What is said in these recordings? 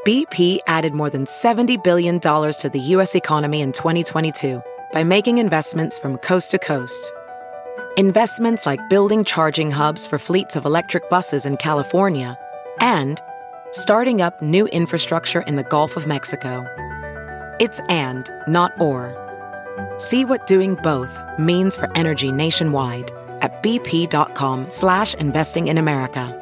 BP added more than $70 billion to the U.S. economy in 2022 by making investments from coast to coast. Investments like building charging hubs for fleets of electric buses in California and starting up new infrastructure in the Gulf of Mexico. It's and, not or. See what doing both means for energy nationwide at bp.com/investing in America.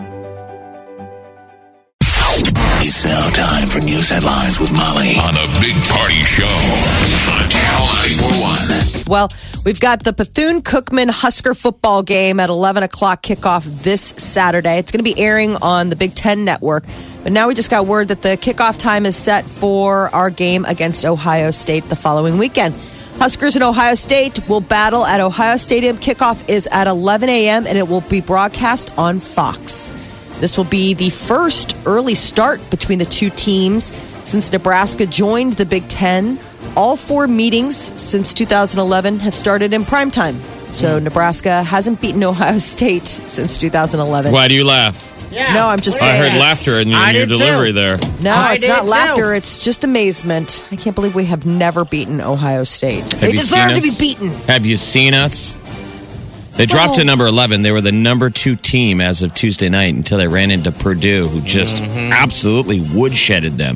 It's now time for news headlines with Molly on the Big Party Show on Channel 941. Well, we've got the Bethune-Cookman Husker football game at 11 o'clock kickoff this Saturday. It's going to be airing on the Big Ten Network. But now we just got word that the kickoff time is set for our game against Ohio State the following weekend. Huskers and Ohio State will battle at Ohio Stadium. Kickoff is at 11 a.m. and it will be broadcast on Fox. This will be the first early start between the two teams since Nebraska joined the Big Ten. All 4 meetings since 2011 have started in primetime. So Nebraska hasn't beaten Ohio State since 2011. Why do you laugh? Yeah. No, I'm just saying. I heard laughter in your delivery there. No, it's not laughter. It's just amazement. I can't believe we have never beaten Ohio State. They deserve to be beaten. Have you seen us? They dropped to number 11. They were the number 2 team as of Tuesday night until they ran into Purdue, who just absolutely woodshedded them.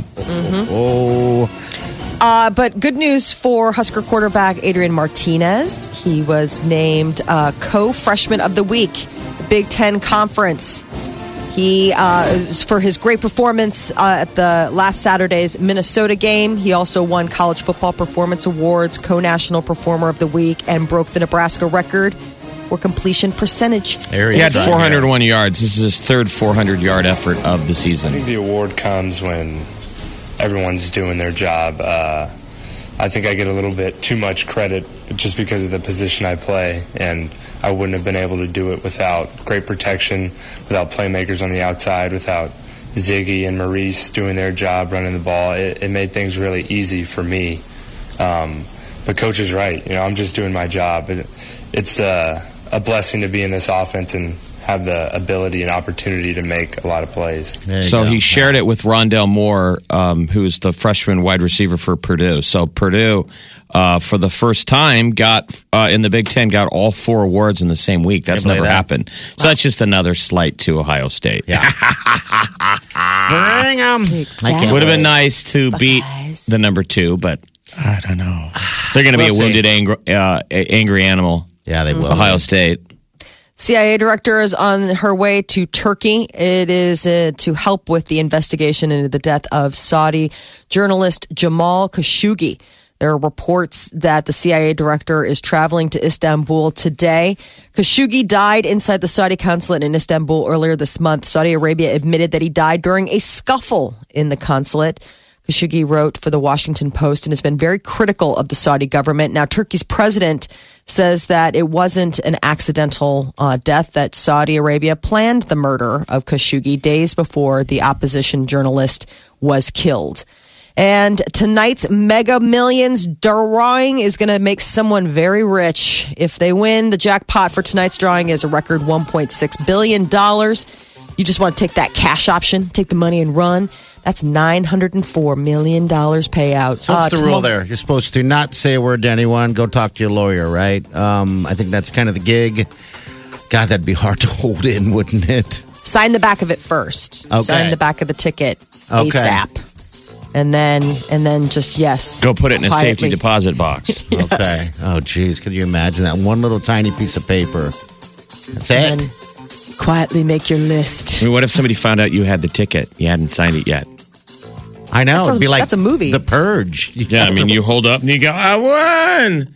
But good news for Husker quarterback Adrian Martinez. He was named co-freshman of the week, the Big Ten Conference. He, for his great performance at the last Saturday's Minnesota game, he also won College Football Performance Awards, co-national performer of the week, and broke the Nebraska record for completion percentage. He had 401 yards. This is his third 400-yard effort of the season. I think the award comes when everyone's doing their job. I think I get a little bit too much credit just because of the position I play, and I wouldn't have been able to do it without great protection, without playmakers on the outside, without Ziggy and Maurice doing their job running the ball. It made things really easy for me. But Coach is right. I'm just doing my job. It's a blessing to be in this offense and have the ability and opportunity to make a lot of plays. So he shared it with Rondell Moore, who's the freshman wide receiver for Purdue. So Purdue, for the first time, got in the Big Ten, got all 4 awards in the same week. That's never happened. So that's just another slight to Ohio State. Yeah. Bring them. Would have been nice to beat the number 2, but I don't know. They're going to be a wounded, angry animal. Yeah, they will. Ohio State. CIA director is on her way to Turkey. It is to help with the investigation into the death of Saudi journalist Jamal Khashoggi. There are reports that the CIA director is traveling to Istanbul today. Khashoggi died inside the Saudi consulate in Istanbul earlier this month. Saudi Arabia admitted that he died during a scuffle in the consulate. Khashoggi wrote for the Washington Post and has been very critical of the Saudi government. Now, Turkey's president says that it wasn't an accidental death, that Saudi Arabia planned the murder of Khashoggi days before the opposition journalist was killed. And tonight's Mega Millions drawing is going to make someone very rich. If they win, the jackpot for tonight's drawing is a record $1.6 billion. You just want to take that cash option, take the money and run. That's $904 million payout. So what's the rule there? You're supposed to not say a word to anyone. Go talk to your lawyer, right? I think that's kind of the gig. God, that'd be hard to hold in, wouldn't it? Sign the back of it first. Okay. Sign the back of the ticket ASAP. And then just, yes. Go put it in a quietly. safety deposit box. Yes. Okay. Oh, geez. Could you imagine that? One little tiny piece of paper. That's And it. then quietly make your list. I mean, what if somebody found out you had the ticket? You hadn't signed it yet. I know. It'd be like that's a movie. The Purge. Yeah, I mean, you hold up and you go, I won!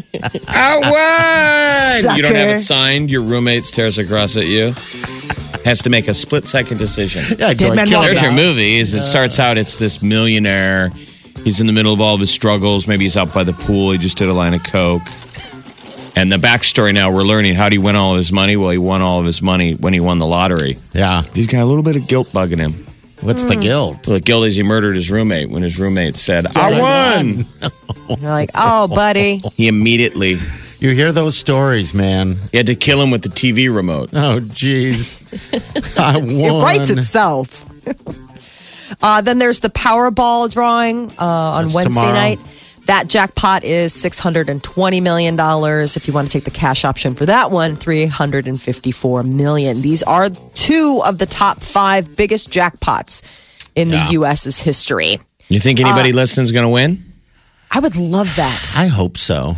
I won! Sucker. You don't have it signed. Your roommate stares across at you. Has to make a split-second decision. Yeah, Dead man walking There's your out. movie. It starts out, it's this millionaire. He's in the middle of all of his struggles. Maybe he's out by the pool. He just did a line of Coke. And the backstory now, we're learning how he win all of his money. Well, he won all of his money when he won the lottery. Yeah. He's got a little bit of guilt bugging him. What's the guilt? The guilt is he murdered his roommate when his roommate said, I won! You're like, oh, buddy. He immediately, You hear those stories, man. he had to kill him with the TV remote. Oh, jeez. I won. It writes itself. Then there's the Powerball drawing on That's Wednesday tomorrow. night. That jackpot is $620 million. If you want to take the cash option for that one, $354 million. These are two of the top 5 biggest jackpots in the U.S.'s history. You think anybody listening is going to win? I would love that. I hope so.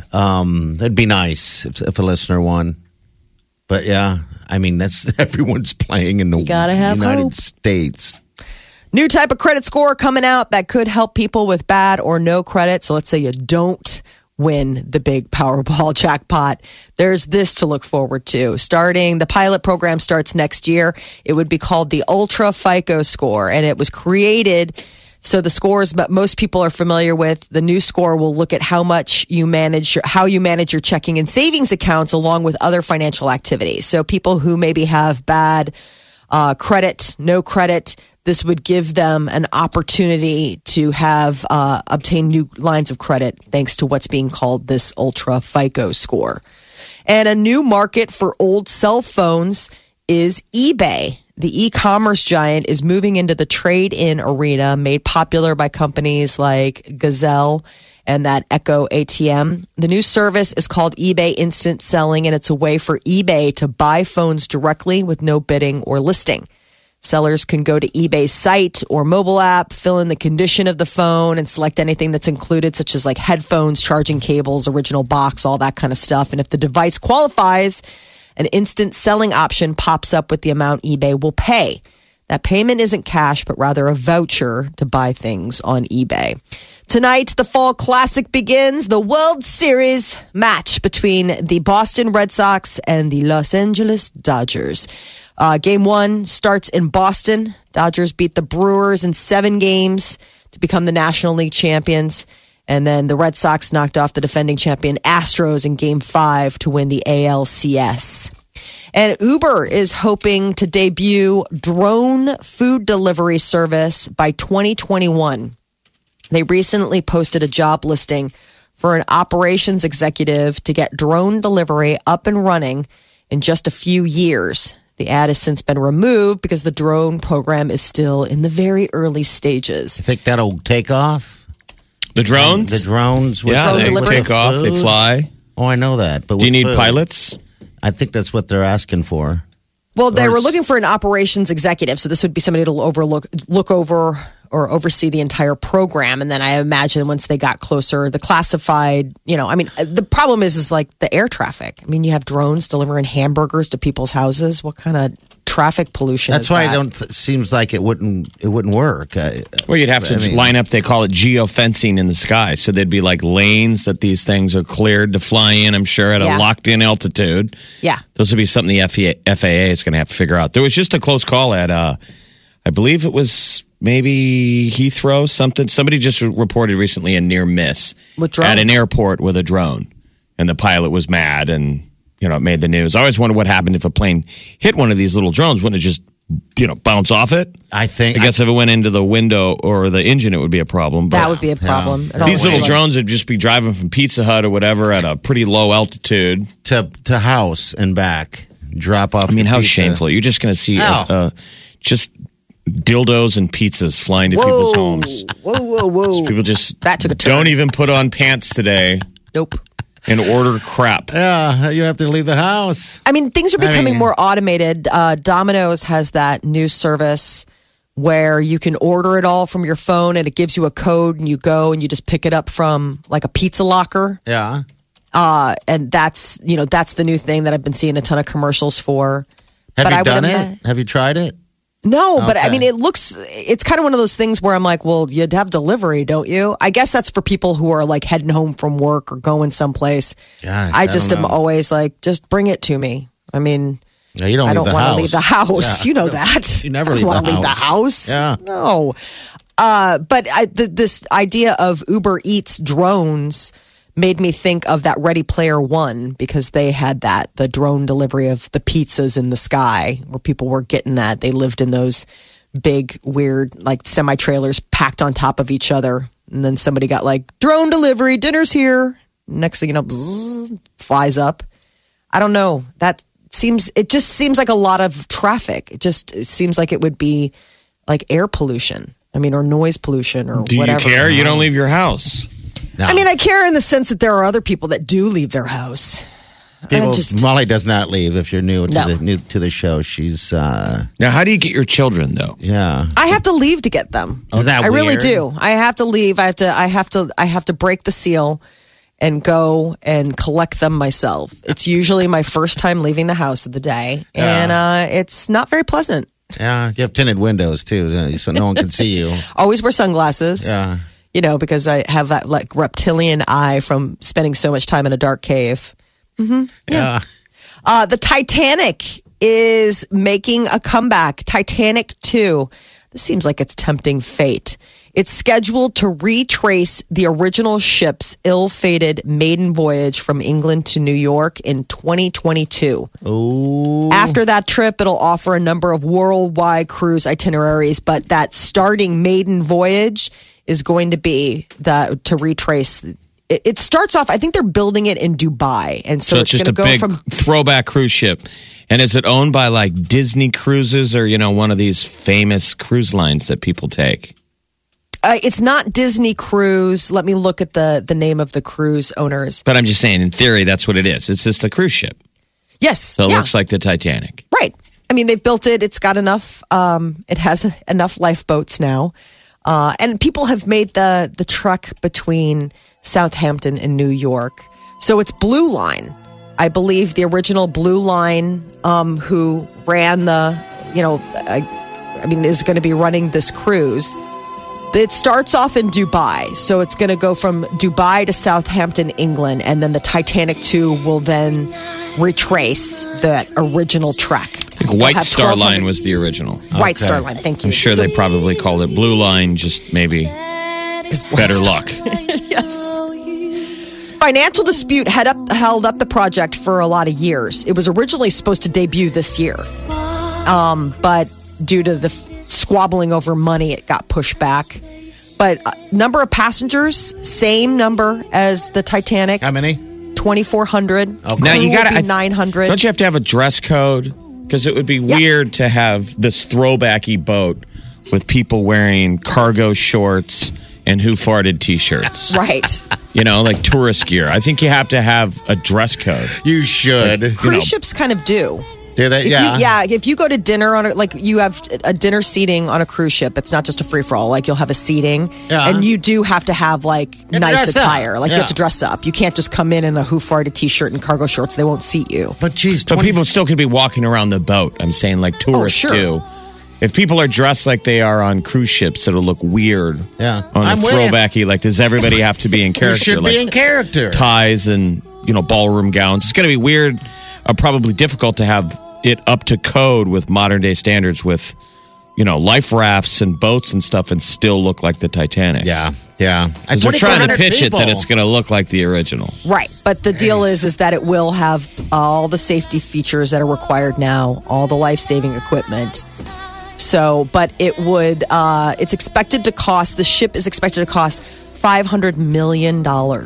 That'd be nice if a listener won. But yeah, I mean, that's everyone's playing in the gotta have United hope. States. New type of credit score coming out that could help people with bad or no credit. So let's say you don't win the big Powerball jackpot. There's this to look forward to. The pilot program starts next year. It would be called the Ultra FICO score, and it was created so the scores that most people are familiar with. The new score will look at how you manage your checking and savings accounts along with other financial activities. So people who maybe have bad credit, no credit, this would give them an opportunity to have obtain new lines of credit thanks to what's being called this Ultra FICO score. And a new market for old cell phones is eBay. The e-commerce giant is moving into the trade-in arena, made popular by companies like Gazelle and that Echo ATM. The new service is called eBay Instant Selling, and it's a way for eBay to buy phones directly with no bidding or listing. Sellers can go to eBay's site or mobile app, fill in the condition of the phone, and select anything that's included, such as like headphones, charging cables, original box, all that kind of stuff. And if the device qualifies, an instant selling option pops up with the amount eBay will pay. That payment isn't cash, but rather a voucher to buy things on eBay. Tonight, the Fall Classic begins. The World Series match between the Boston Red Sox and the Los Angeles Dodgers. Game 1 starts in Boston. Dodgers beat the Brewers in 7 games to become the National League champions. And then the Red Sox knocked off the defending champion Astros in Game 5 to win the ALCS. And Uber is hoping to debut drone food delivery service by 2021. They recently posted a job listing for an operations executive to get drone delivery up and running in just a few years. The ad has since been removed because the drone program is still in the very early stages. You think that'll take off? The drones? The drones? With Yeah, they delivery? take off, they fly. Oh, I know that. But Do you with need food, pilots? I think that's what they're asking for. Well, they Or were it's- looking for an operations executive, so this would be somebody to look over or oversee the entire program. And then I imagine once they got closer, the classified, the problem is like the air traffic. I mean, you have drones delivering hamburgers to people's houses. What kind of traffic pollution That's is why that? I don't. Seems like it wouldn't work. Well, you'd have to line up, they call it geofencing in the sky. So there'd be like lanes that these things are cleared to fly in, I'm sure, at a Yeah. locked in altitude. Yeah. Those would be something the FAA is going to have to figure out. There was just a close call at, I believe it was maybe Heathrow, something. Somebody just reported recently a near miss With drones? at an airport with a drone. And the pilot was mad and, it made the news. I always wonder what happened if a plane hit one of these little drones. Wouldn't it just, bounce off it? I think. I guess if it went into the window or the engine, it would be a problem. But That would be a problem. It all these would little be. drones would just be driving from Pizza Hut or whatever at a pretty low altitude. to house and back, drop off. I mean, the how pizza. shameful. You're just going to see Ow. just dildos and pizzas flying to people's homes. Whoa. People just That took a turn. don't even put on pants today Nope. and order crap. Yeah, you have to leave the house. I mean, things are becoming mean- more automated. Domino's has that new service where you can order it all from your phone and it gives you a code and you go and you just pick it up from like a pizza locker. Yeah. And that's the new thing that I've been seeing a ton of commercials for. Have But you I would done ima- it? Have you tried it? No, but I Okay. mean, it's kind of one of those things where I'm like, well, you'd have delivery, don't you? I guess that's for people who are like heading home from work or going someplace. Gosh, I I just don't am know. always like, just bring it to me. I mean, Yeah, you don't. I leave don't the want house. to leave the house. Yeah. You know that. You never I leave don't the wanna leave the house. house. Yeah. No. But this idea of Uber Eats drones made me think of that Ready Player One because they had the drone delivery of the pizzas in the sky where people were getting that. They lived in those big, weird, like semi-trailers packed on top of each other. And then somebody got like, drone delivery, dinner's here. Next thing you know, bzzz, flies up. I don't know. It just seems like a lot of traffic. It seems like it would be like air pollution. I mean, or noise pollution or Do whatever. you care? You don't leave your house. No. I mean, I care in the sense that there are other people that do leave their house. Molly does not leave. If you're new to No. the show, she's Now, how do you get your children though? yeah. I have to leave to get them. Is that I really weird? do. I have to leave. I have to break the seal and go and collect them myself. It's usually my first time leaving the house of the day, and it's not very pleasant. Yeah, you have tinted windows too, so no one can see you. Always wear sunglasses. Yeah. You know, because I have that like reptilian eye from spending so much time in a dark cave. Yeah. The Titanic is making a comeback. Titanic 2. This seems like it's tempting fate. It's scheduled to retrace the original ship's ill-fated maiden voyage from England to New York in 2022. Ooh. After that trip, it'll offer a number of worldwide cruise itineraries, but that starting maiden voyage is going to be to retrace. It starts off, I think they're building it in Dubai. And so it's it's just going a to go big from throwback cruise ship. And is it owned by like Disney Cruises or, one of these famous cruise lines that people take? It's not Disney Cruise. Let me look at the name of the cruise owners. But I'm just saying, in theory, that's what it is. It's just a cruise ship. Yes. So it looks like the Titanic. Right. I mean, they've built it. It's got enough. It has enough lifeboats now. And people have made the trek between Southampton and New York. So it's Blue Line. I believe the original Blue Line, who ran is going to be running this cruise. It starts off in Dubai. So it's going to go from Dubai to Southampton, England. And then the Titanic 2 will then retrace that original trek. I think White Star Line was the original. White Star Line, thank you. I'm sure they probably called it Blue Line, just maybe better luck. Yes. Financial dispute held up the project for a lot of years. It was originally supposed to debut this year. But due to the squabbling over money, it got pushed back. But number of passengers, same number as the Titanic. How many? 2,400. Okay. Now you got to 900. Don't you have to have a dress code? Because it would be weird to have this throwbacky boat with people wearing cargo shorts and Who Farted t-shirts. Right. Like tourist gear. I think you have to have a dress code. You should. Cruise ships kind of do. Do they? If you go to dinner you have a dinner seating on a cruise ship, it's not just a free for all. Like you'll have a seating, and you do have to have like nice attire. Like you have to dress up. You can't just come in a Who Farted t-shirt and cargo shorts. They won't seat you. But geez, But people still could be walking around the boat. I'm saying like tourists sure. do. If people are dressed like they are on cruise ships, it'll look weird. Yeah. On I'm a with you. throwbacky, like does everybody have to be in you character? should like be in character. ties and ballroom gowns. It's going to be weird, probably difficult to have it up to code with modern day standards with life rafts and boats and stuff and still look like the Titanic. Yeah. Because they're trying to pitch it that it's going to look like the original. Right. But the deal is that it will have all the safety features that are required now, all the life-saving equipment. So, but it would, it's expected to cost, the ship is expected to cost $500 million.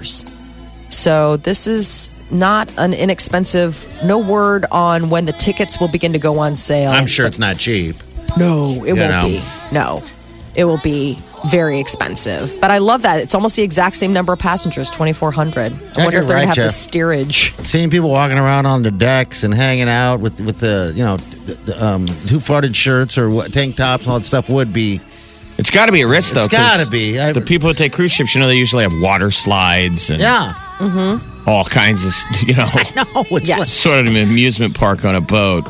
So this is not an inexpensive, no word on when the tickets will begin to go on sale. I'm sure it's not cheap. No, it won't be. No, it will be very expensive. But I love that. It's almost the exact same number of passengers, 2,400. I wonder if they're going to have the steerage. Seeing people walking around on the decks and hanging out with the, Who Farted shirts or tank tops and all that stuff would be. It's got to be a risk, though. It's got to be. The people who take cruise ships, they usually have water slides and all kinds of, I know. It's Yes. sort of an amusement park on a boat.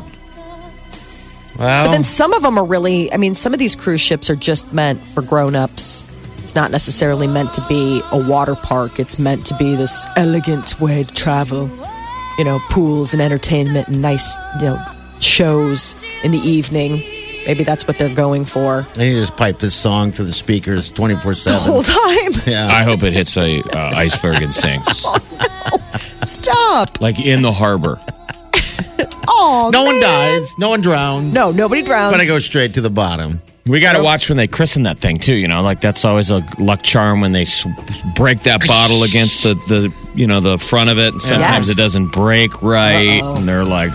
Well, But then some of them are really, some of these cruise ships are just meant for grown-ups. It's not necessarily meant to be a water park. It's meant to be this elegant way to travel. Pools and entertainment and nice, shows in the evening. Maybe that's what they're going for. and you just pipe this song through the speakers 24/7. The whole time. Yeah. I hope it hits a iceberg and sinks. Stop. Like in the harbor. Oh, No one man. dies. No one drowns. No, nobody drowns. But I go straight to the bottom. We got to watch when they christen that thing too. Like that's always a luck charm when they break that bottle against the the front of it. And sometimes Yes. it doesn't break right, and they're like,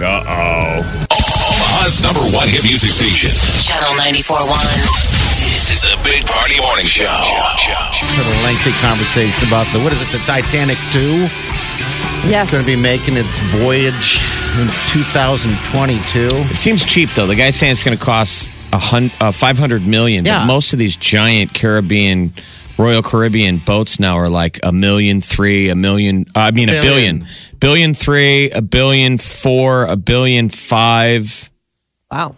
Omaha's #1 hit music station. Channel 94.1. This is the Big Party Morning Show. Had a lengthy conversation about the Titanic 2? Yes. It's going to be making its voyage in 2022. It seems cheap, though. The guy's saying it's going to cost $500 million. Yeah. But most of these giant Royal Caribbean boats now are like $1.3 million, $1 million. I mean, $1 billion. $1.3 billion, $1.4 billion, $1.5 billion. Wow.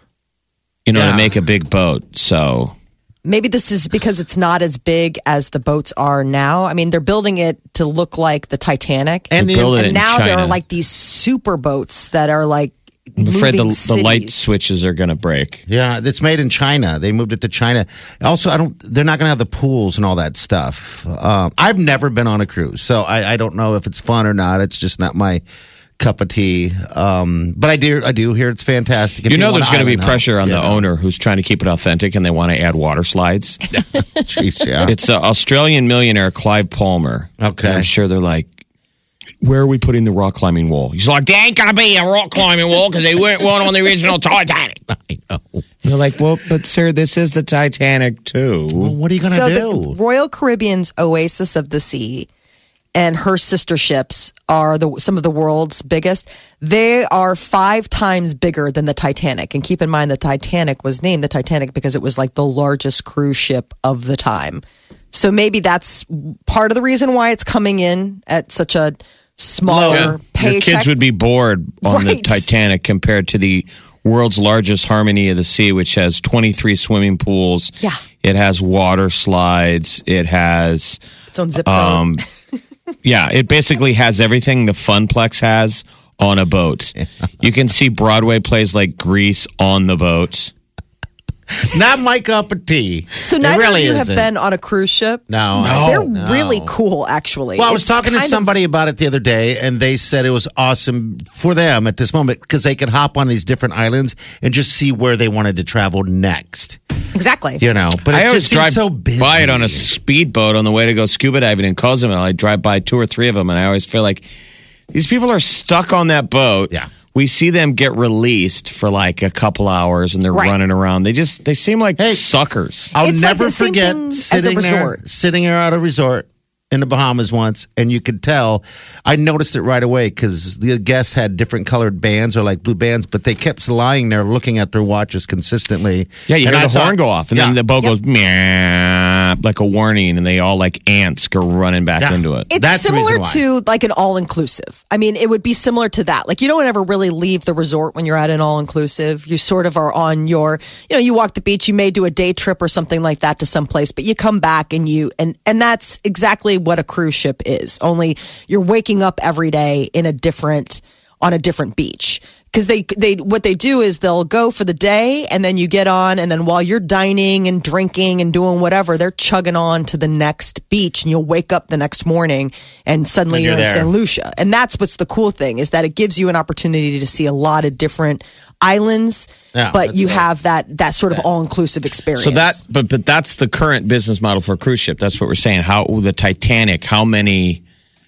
To make a big boat. So maybe this is because it's not as big as the boats are now. I mean, they're building it to look like the Titanic. And now there China. are like these super boats that are like I'm afraid the cities. light switches are going to break. Yeah, it's made in China. They moved it to China. Also, they're not going to have the pools and all that stuff. I've never been on a cruise, so I don't know if it's fun or not. It's just not my cup of tea. But I do hear it's fantastic. There's going to be pressure on the owner who's trying to keep it authentic, and they want to add water slides. Jeez, yeah. It's Australian millionaire Clive Palmer. Okay. And I'm sure they're like, where are we putting the rock climbing wall? He's like, there ain't going to be a rock climbing wall because they weren't one on the original Titanic. I know. They're like, well, but sir, this is the Titanic too. Well, what are you going to do? The Royal Caribbean's Oasis of the Sea and her sister ships are some of the world's biggest. They are 5 times bigger than the Titanic. And keep in mind, the Titanic was named the Titanic because it was like the largest cruise ship of the time. So maybe that's part of the reason why it's coming in at such a smaller paycheck. Your kids would be bored on the Titanic compared to the world's largest Harmony of the Sea, which has 23 swimming pools. Yeah. It has water slides. It has its own zip code. Yeah, it basically has everything the Funplex has on a boat. You can see Broadway plays like Grease on the boat. Not my cup of tea. So neither of you have been on a cruise ship? No. They're really cool, actually. Well, I was talking to somebody about it the other day, and they said it was awesome for them at this moment because they could hop on these different islands and just see where they wanted to travel next. Exactly. But I it always just drive seems so busy. by it on a speedboat on the way to go scuba diving in Cozumel. I drive by 2 or 3 of them, and I always feel like these people are stuck on that boat. Yeah. We see them get released for like a couple hours, and they're running around. They seem like suckers. I'll It's never like the same forget thing as a resort. sitting there at a resort in the Bahamas once, and you could tell. I noticed it right away because the guests had different colored bands or like blue bands, but they kept lying there looking at their watches consistently. Yeah, you And hear I the horn thought- go off, and then the boat goes meow, like a warning, and they all like ants go running back into it. It's That's the similar reason to like an all-inclusive. I mean, it would be similar to that. Like you don't ever really leave the resort when you're at an all-inclusive. You sort of are on your, you walk the beach, you may do a day trip or something like that to someplace, but you come back and and that's exactly what a cruise ship is. Only you're waking up every day on a different beach. Because what they do is they'll go for the day and then you get on, and then while you're dining and drinking and doing whatever, they're chugging on to the next beach, and you'll wake up the next morning and suddenly And you're in you're there. St. Lucia. And that's what's the cool thing, is that it gives you an opportunity to see a lot of different islands, Yeah, but that's you right. have that sort of all-inclusive experience. So but that's the current business model for a cruise ship. That's what we're saying. How the Titanic? How many,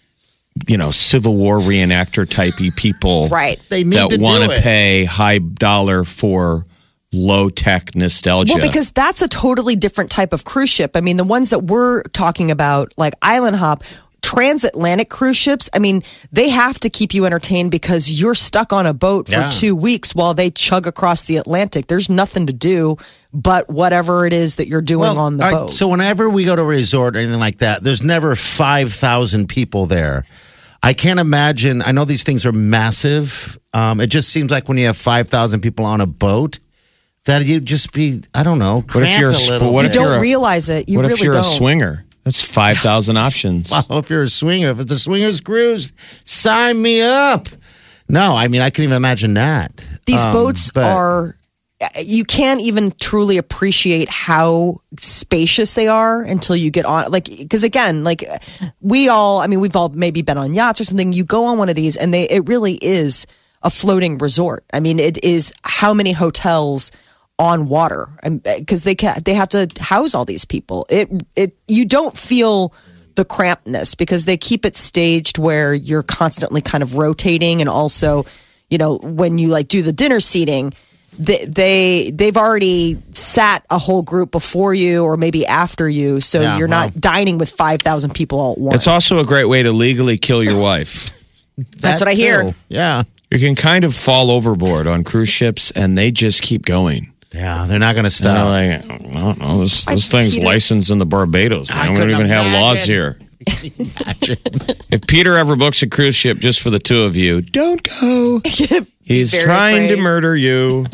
Civil War reenactor typey people, Right. They need that to want do to it. pay high dollar for low tech nostalgia? Well, because that's a totally different type of cruise ship. I mean, the ones that we're talking about, like Island Hop, transatlantic cruise ships, I mean, they have to keep you entertained because you're stuck on a boat for Yeah. 2 weeks while they chug across the Atlantic. There's nothing to do but whatever it is that you're doing on the all right, boat. So whenever we go to a resort or anything like that, there's never 5,000 people there. I can't imagine. I know these things are massive. It just seems like when you have 5,000 people on a boat, that you'd just be, I don't know, What if you're cramped a a little. what you if you're don't a- realize it. You what really if you're don't. a swinger? That's 5,000 options. Well, if you're a swinger, if it's a swingers cruise, sign me up. No, I mean, I can't even imagine that. These boats but- are, you can't even truly appreciate how spacious they are until you get on. Like, because again, like we've all maybe been on yachts or something. You go on one of these and it really is a floating resort. I mean, it is how many hotels on water, because they have to house all these people. You don't feel the crampedness because they keep it staged where you're constantly kind of rotating, and also, when you like do the dinner seating, they've already sat a whole group before you or maybe after you, so you're not dining with 5,000 people all at once. It's also a great way to legally kill your wife. That's what I hear. Yeah. You can kind of fall overboard on cruise ships, and they just keep going. Yeah, they're not going to stop. And they're like, no, this thing's licensed in the Barbados. Man. We don't even have laws here. If Peter ever books a cruise ship just for the two of you, don't go. He's trying to murder you.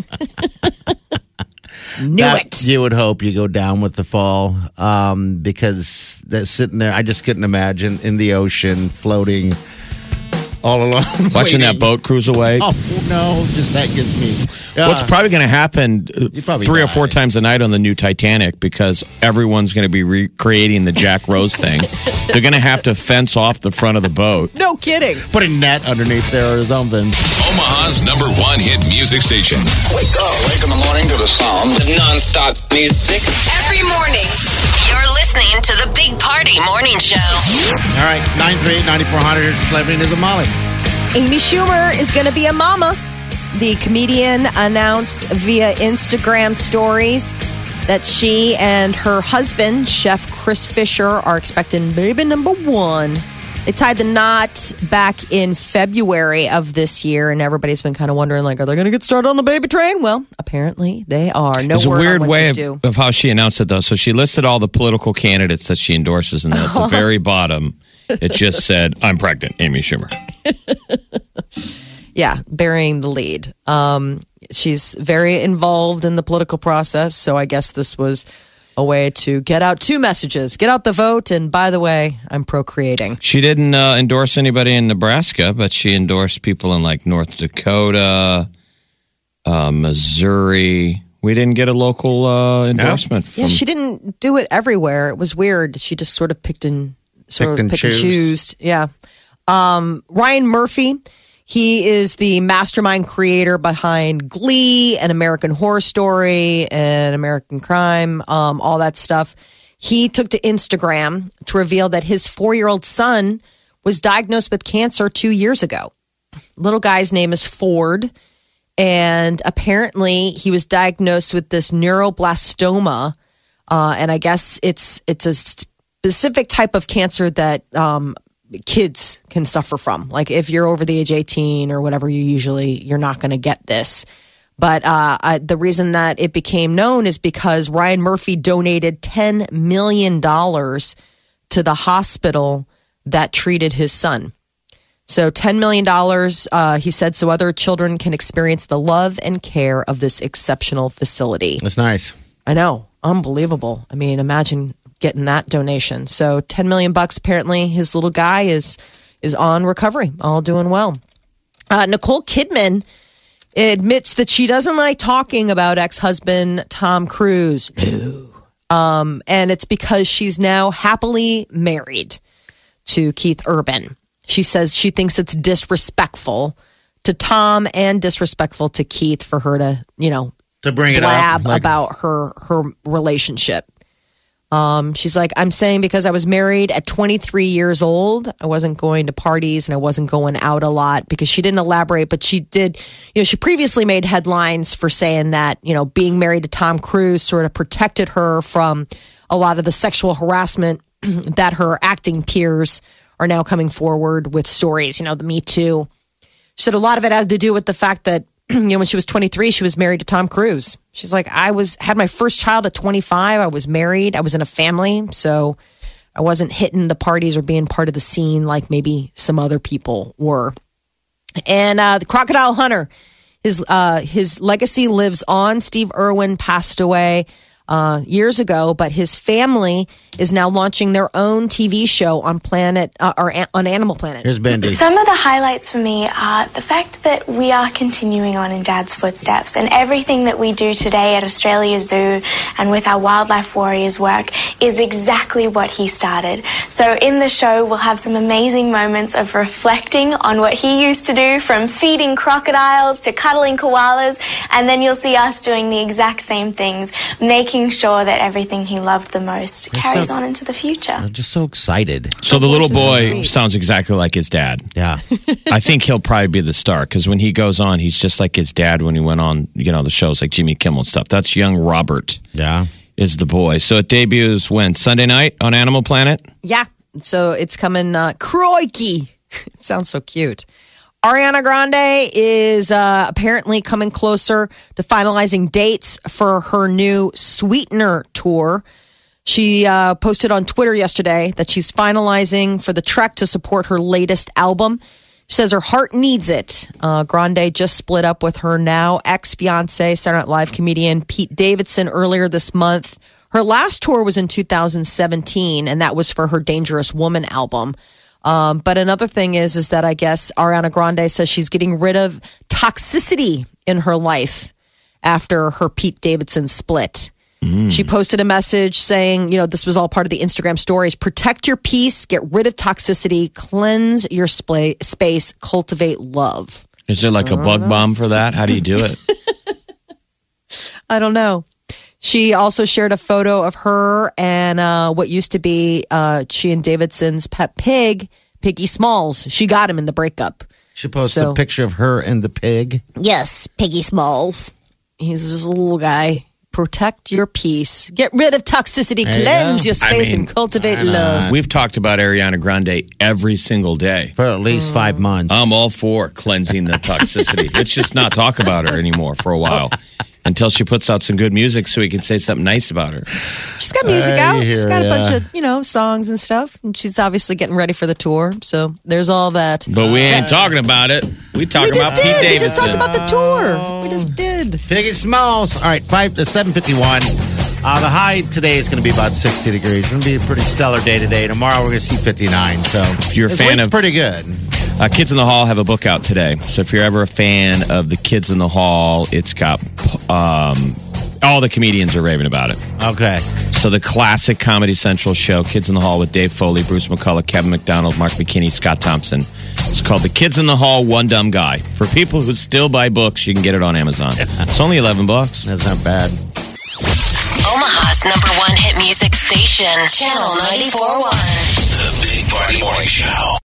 Knew it. You would hope you go down with the fall because they're sitting there. I just couldn't imagine in the ocean floating all alone. Watching that boat cruise away. Oh, no. Just that gets me. What's probably going to happen 3 or 4 times a night on the new Titanic because everyone's going to be recreating the Jack Rose thing. They're going to have to fence off the front of the boat. No kidding. Put a net underneath there or something. Omaha's #1 hit music station. Wake up. Wake in the morning to the sound of non-stop music. Every morning, you're listening to the Big Party Morning Show. All right, 938-9400, Celebrity News with Molly. Amy Schumer is going to be a mama. The comedian announced via Instagram stories that she and her husband, Chef Chris Fisher, are expecting baby number 1. They tied the knot back in February of this year, and everybody's been kind of wondering, like, are they going to get started on the baby train? Well, apparently they are. No It's a word weird on way what she's of how she announced it, though. So she listed all the political candidates that she endorses, and at the very bottom, it just said, I'm pregnant, Amy Schumer. Yeah, burying the lead. She's very involved in the political process, so I guess this was a way to get out 2 messages. Get out the vote, and by the way, I'm procreating. She didn't endorse anybody in Nebraska, but she endorsed people in like North Dakota, Missouri. We didn't get a local endorsement. Yeah, she didn't do it everywhere. It was weird. She just sort of picked and choose. Yeah. Ryan Murphy. He is the mastermind creator behind Glee and American Horror Story and American Crime, all that stuff. He took to Instagram to reveal that his 4-year-old son was diagnosed with cancer 2 years ago. Little guy's name is Ford, and apparently he was diagnosed with this neuroblastoma, and I guess it's a specific type of cancer that kids can suffer from. Like if you're over the age 18 or whatever, you're not going to get this. But the reason that it became known is because Ryan Murphy donated $10 million to the hospital that treated his son. So $10 million, he said, so other children can experience the love and care of this exceptional facility. That's nice. I know. Unbelievable. I mean, imagine getting that donation. So $10 million apparently. His little guy is on recovery, all doing well. Nicole Kidman admits that she doesn't like talking about ex-husband Tom Cruise. No. And it's because she's now happily married to Keith Urban. She says she thinks it's disrespectful to Tom and disrespectful to Keith for her to, to bring it blab up about her relationship. She's like, I'm saying because I was married at 23 years old, I wasn't going to parties and I wasn't going out a lot, because she didn't elaborate, but she did, she previously made headlines for saying that, being married to Tom Cruise sort of protected her from a lot of the sexual harassment that her acting peers are now coming forward with stories, the Me Too. She said a lot of it had to do with the fact that, when she was 23, she was married to Tom Cruise. She's like, had my first child at 25. I was married. I was in a family. So I wasn't hitting the parties or being part of the scene like maybe some other people were. And the Crocodile Hunter, his legacy lives on. Steve Irwin passed away years ago, but his family is now launching their own TV show on on Animal Planet. Here's Bendy. Some of the highlights for me are the fact that we are continuing on in Dad's footsteps, and everything that we do today at Australia Zoo and with our Wildlife Warriors work is exactly what he started. So So in the show, we'll have some amazing moments of reflecting on what he used to do, from feeding crocodiles to cuddling koalas, and then you'll see us doing the exact same things, making sure that everything he loved the most carries on into the future. I'm just so excited. So the little boy sounds exactly like his dad. Yeah. I think he'll probably be the star because when he goes on, he's just like his dad when he went on, the shows like Jimmy Kimmel and stuff. That's young Robert. Yeah. Is the boy. So it debuts when? Sunday night on Animal Planet? Yeah. So it's coming, Crikey. It sounds so cute. Ariana Grande is apparently coming closer to finalizing dates for her new Sweetener tour. She posted on Twitter yesterday that she's finalizing for the trek to support her latest album. She says her heart needs it. Grande just split up with her now ex-fiance, Saturday Night Live comedian Pete Davidson earlier this month. Her last tour was in 2017, and that was for her Dangerous Woman album. But another thing is that I guess Ariana Grande says she's getting rid of toxicity in her life after her Pete Davidson split. She posted a message saying, this was all part of the Instagram stories. Protect your peace, get rid of toxicity, cleanse your space, cultivate love. Is there like a bug bomb for that? How do you do it? I don't know. She also shared a photo of her and what used to be she and Davidson's pet pig, Piggy Smalls. She got him in the breakup. She posted a picture of her and the pig. Yes, Piggy Smalls. He's just a little guy. Protect your peace. Get rid of toxicity. Cleanse your space and cultivate love. We've talked about Ariana Grande every single day. For at least 5 months. I'm all for cleansing the toxicity. Let's just not talk about her anymore for a while. Until she puts out some good music so we can say something nice about her. She's got music out. She's got a bunch of, songs and stuff. And she's obviously getting ready for the tour. So there's all that. But we ain't talking about it. We talking about Pete Davidson. We just talked about the tour. We just did. Piggy Smalls. All right, 7:51. The high today is going to be about 60 degrees. It's going to be a pretty stellar day today. Tomorrow we're going to see 59. So if you're a fan of pretty good. Kids in the Hall have a book out today. So if you're ever a fan of the Kids in the Hall, it's got all the comedians are raving about it. Okay. So the classic Comedy Central show, Kids in the Hall with Dave Foley, Bruce McCullough, Kevin McDonald, Mark McKinney, Scott Thompson. It's called The Kids in the Hall, One Dumb Guy. For people who still buy books, you can get it on Amazon. It's only $11. That's not bad. Omaha's #1 hit music station, Channel 94.1. The Big Party Morning Show.